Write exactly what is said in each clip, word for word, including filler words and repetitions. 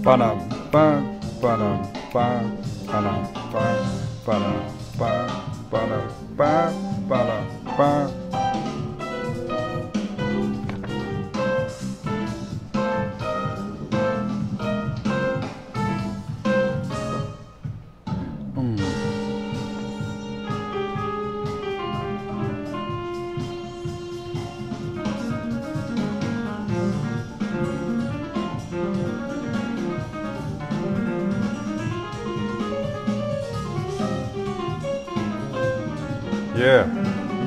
巴拉巴巴拉巴巴拉巴巴拉巴巴拉巴巴拉巴。嗯。Yeah.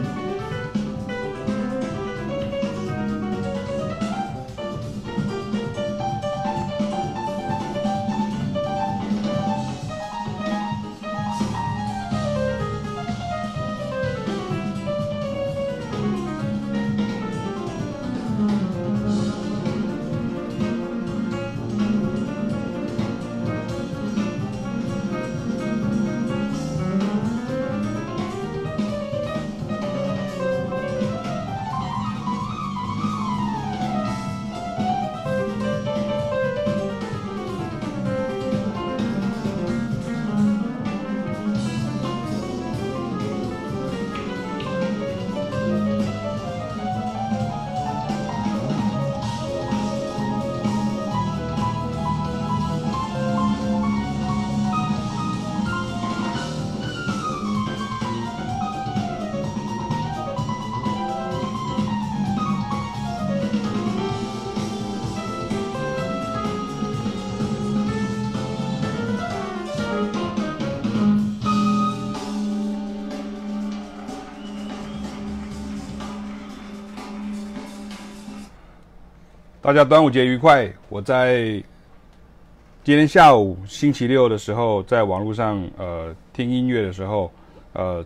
大家端午節愉快！我在今天下午星期六的時候，在網絡上呃聽音樂的時候，呃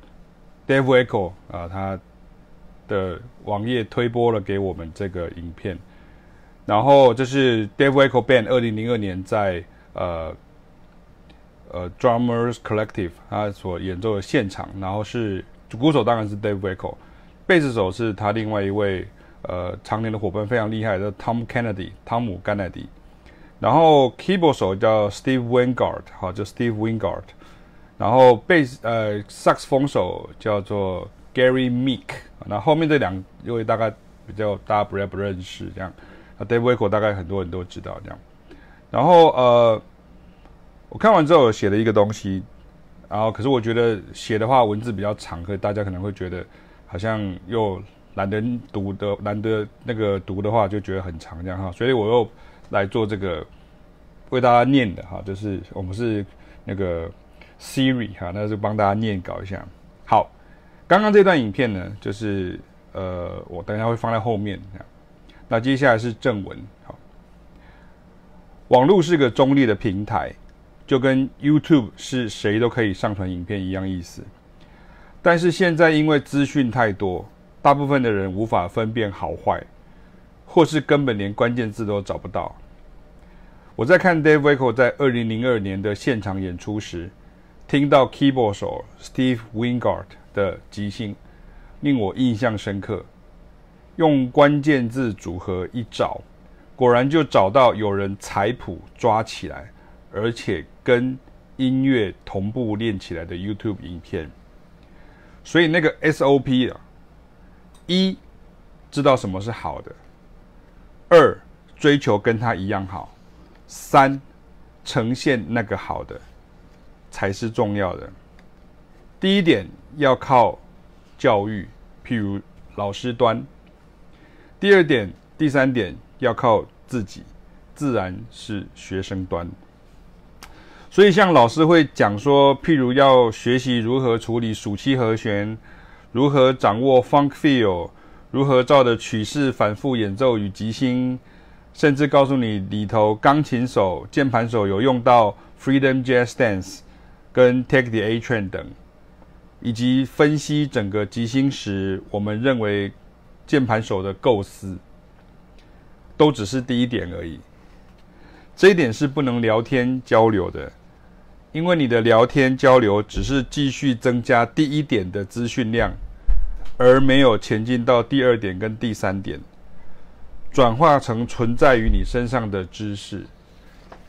Dave Echo 啊、呃、他的網頁推播了給我們這個影片，然後這是 Dave Echo Band 二零零二年在呃呃 Drummers Collective 他所演奏的現場，然後是鼓手當然是 Dave Echo， 貝斯手是他另外一位。呃，常年的夥伴非常厲害的 Tom Kennedy， 湯姆·甘乃迪，然後 keyboard 手叫 Steve Wingard， 好，就 Steve Wingard， 然後貝斯呃薩克斯風手叫做 Gary Meek， 那後面這兩位大概比較大家不不認識這樣，那 Dave Echo 大概很多人都知道這樣，然後呃，我看完之後寫了一個東西，然後可是我覺得寫的話文字比較長，可是大家可能會覺得好像又。懶得讀的，懶得那個讀的話，就覺得很長這樣哈，所以我又來做這個為大家念的哈，就是我們是那個 Siri 哈，那就幫大家念稿一下。好，剛剛這段影片呢，就是呃，我等一下會放在後面。那接下來是正文。好，網絡是個中立的平台，就跟 YouTube 是誰都可以上傳影片一樣意思。但是現在因為資訊太多。大部分的人無法分辨好壞，或是根本連關鍵字都找不到。我在看 Dave Echo 在二零零二年的現場演出時，聽到 keyboard 手 Steve Wingard 的即興，令我印象深刻。用關鍵字組合一找，果然就找到有人採譜抓起來，而且跟音樂同步練起來的 YouTube 影片。所以那個 S O P 啊。一，知道什麼是好的；二，追求跟他一樣好；三，呈現那個好的，才是重要的。第一點要靠教育，譬如老師端；第二點、第三點要靠自己，自然是學生端。所以，像老師會講說，譬如要學習如何處理屬七和弦。如何掌握 funk feel， 如何照着曲式反覆演奏與即興，甚至告訴你裡頭鋼琴手、鍵盤手有用到 Freedom Jazz Dance 跟 Take the A Train 等，以及分析整個即興時我們認為鍵盤手的構思，都只是第一點而已。這一點是不能聊天交流的。因為你的聊天交流只是繼續增加第一點的資訊量，而沒有前進到第二點跟第三點，轉化成存在於你身上的知識。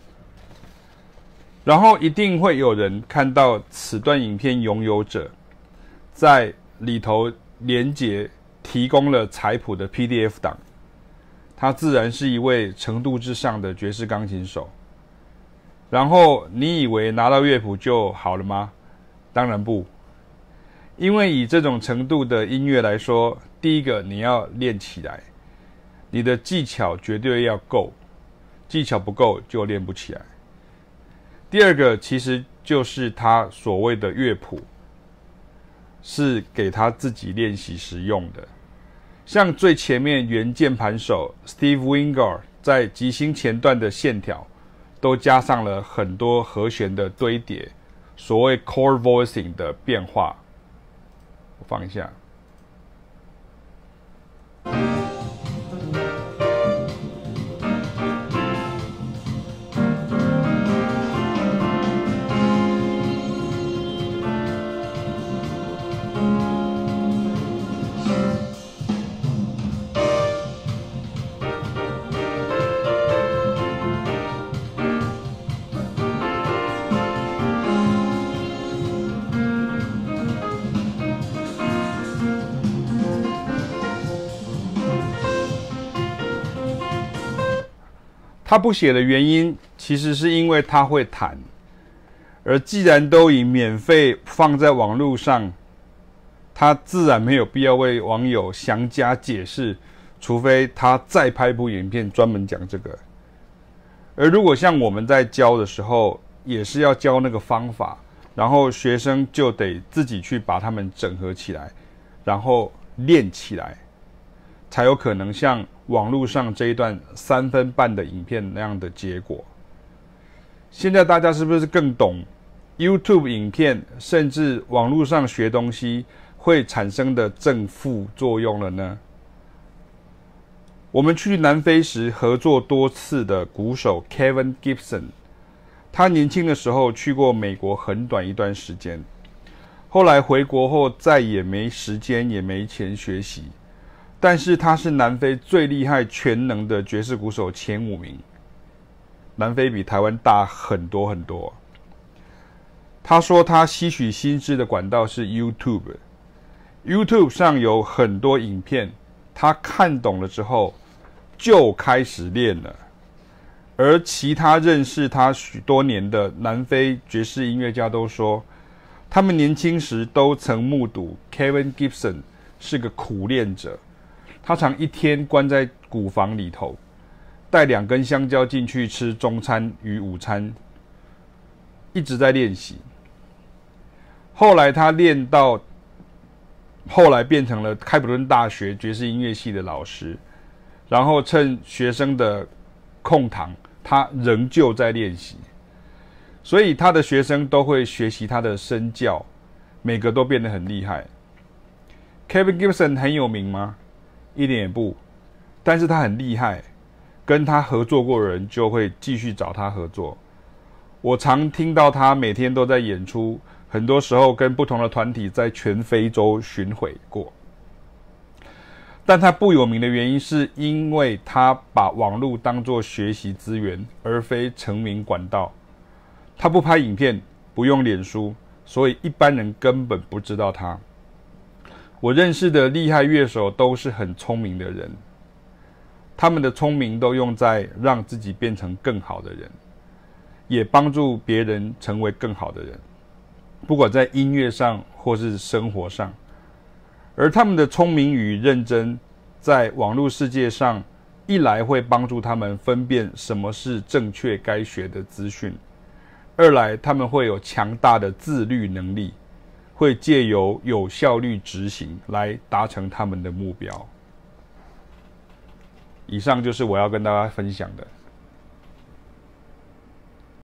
然後一定會有人看到此段影片擁有者在裡頭連結提供了彩譜的 P D F 檔，他自然是一位程度之上的爵士鋼琴手。然後你以為拿到樂譜就好了嗎？當然不，因為以這種程度的音樂來說，第一個你要練起來，你的技巧絕對要夠，技巧不夠就練不起來。第二個其實就是他所謂的樂譜，是給他自己練習時用的。像最前面原鍵盤手 Steve Wingard 在即興前段的線條，都加上了很多和弦的堆疊，所謂 chord voicing 的變化。我放一下。他不寫的原因，其實是因為他會彈，而既然都已免費放在網絡上，他自然沒有必要為網友詳加解釋，除非他再拍部影片專門講這個。而如果像我們在教的時候，也是要教那個方法，然後學生就得自己去把它們整合起來，然後練起來，才有可能像網絡上這一段三分半的影片那樣的結果。現在大家是不是更懂 YouTube 影片甚至網絡上學東西會產生的正負作用了呢？我們去南非時合作多次的鼓手 Kevin Gibson， 他年輕的時候去過美國很短一段時間，後來回國後再也沒時間也沒錢學習。但是他是南非最厲害全能的爵士鼓手前五名，南非比台灣大很多很多。他說他吸取新知的管道是 YouTube，YouTube 上有很多影片，他看懂了之後就開始練了。而其他認識他許多年的南非爵士音樂家都說，他們年輕時都曾目睹 Kevin Gibson 是個苦練者。他常一天關在鼓房裡頭，帶兩根香蕉進去吃中餐與午餐，一直在練習。後來他練到，後來變成了開普敦大學爵士音樂系的老師，然後趁學生的空堂，他仍舊在練習。所以他的學生都會學習他的身教，每個都變得很厲害。Kevin Gibson 很有名嗎？一點也不，但是他很厲害，跟他合作過的人就會繼續找他合作。我常聽到他每天都在演出，很多時候跟不同的團體在全非洲巡迴過。但他不有名的原因是因為他把網絡當作學習資源，而非成名管道。他不拍影片，不用臉書，所以一般人根本不知道他。我認識的厲害樂手都是很聰明的人，他們的聰明都用在讓自己變成更好的人，也幫助別人成為更好的人，不管在音樂上或是生活上。而他們的聰明與認真，在網絡世界上，一來會幫助他們分辨什麼是正確該學的資訊，二來他們會有強大的自律能力，會借由有效率執行來達成他們的目標。以上就是我要跟大家分享的。